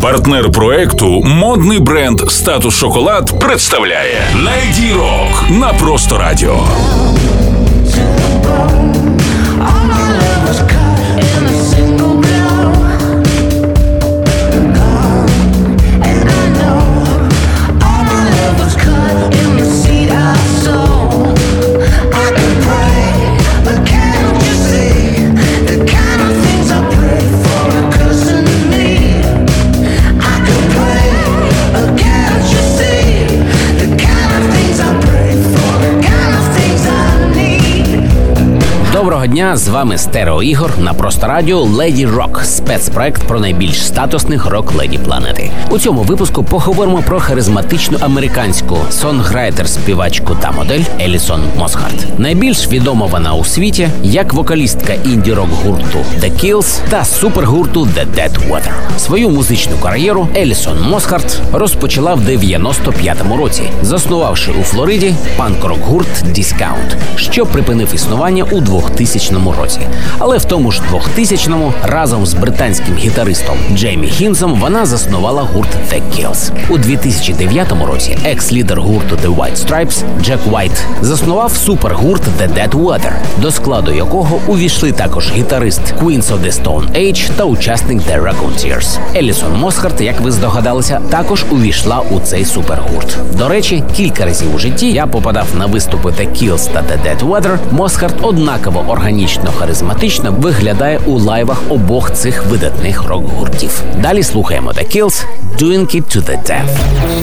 Партнер проекту модний бренд «Статус Шоколад» представляє Lady Rock на Просто Радіо. Доброго дня, з вами Стерео Ігор на Просто Радіо Lady Rock, спецпроект про найбільш статусних рок-леді планети. У цьому випуску поговоримо про харизматичну американську сонграйтер, співачку та модель Елісон Мосхарт. Найбільш відома вона у світі як вокалістка інді-рок гурту The Kills та супергурту The Dead Weather. Свою музичну кар'єру Елісон Мосхарт розпочала в 95-му році, заснувавши у Флориді панк-рок гурт Discount, що припинив існування у 2000 році. Але в тому ж 2000-му разом з британським гітаристом Джеймі Хінзом вона заснувала гурт The Kills. У 2009 році екс-лідер гурту The White Stripes Джек Уайт заснував супергурт The Dead Weather, до складу якого увійшли також гітарист Queens of the Stone Age та учасник The Raconteurs. Елісон Мосхарт, як ви здогадалися, також увійшла у цей супергурт. До речі, кілька разів у житті я попадав на виступи The Kills та The Dead Weather. Мосхарт однаково органічно-харизматично виглядає у лайвах обох цих видатних рок-гуртів. Далі слухаємо The Kills «Doing It to the Death».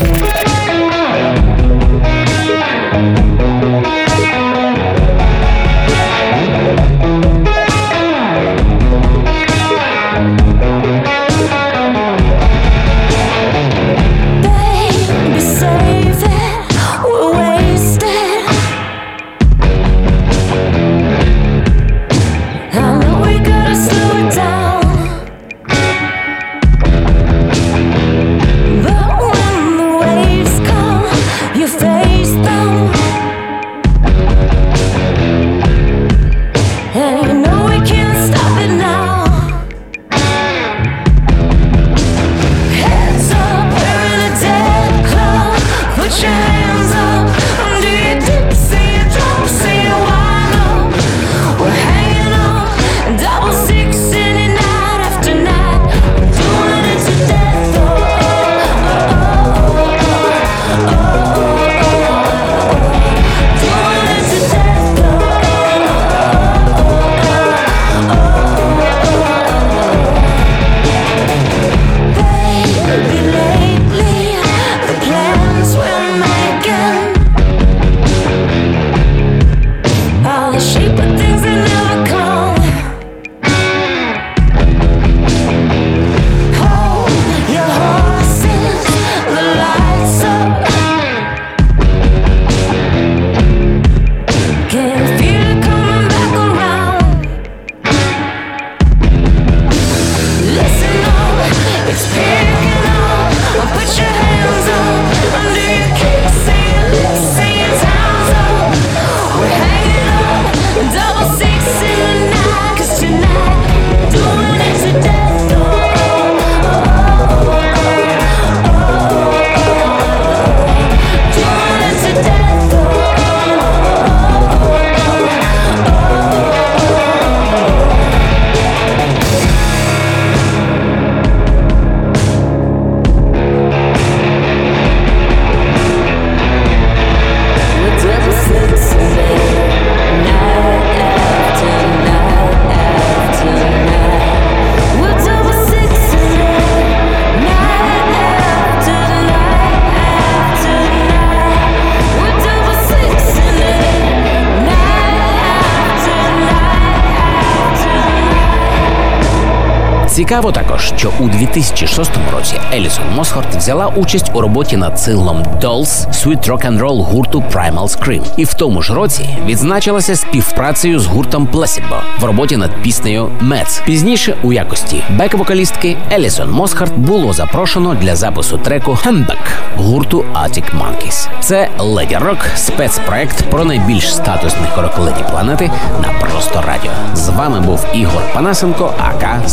Цікаво також, що у 2006 році Елісон Мосхарт взяла участь у роботі над синглом Dolls Sweet Rock and Roll гурту Primal Scream. І в тому ж році відзначилася співпрацею з гуртом Placebo в роботі над піснею Meds. Пізніше у якості бек-вокалістки Елісон Мосхарт було запрошено для запису треку Humbug гурту Arctic Monkeys. Це Lady Rock, спецпроект про найбільш статусних рок-леді планети на Просто Радіо. З вами був Ігор Панасенко, АК Стерео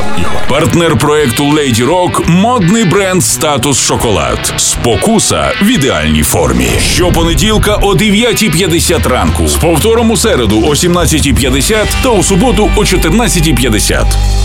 Ігор. Партнер проекту Lady Rock – модний бренд «Статус Шоколад». Спокуса в ідеальній формі. Щопонеділка о 9:50 ранку. З повтором у середу о 17:50 та у суботу о 14:50.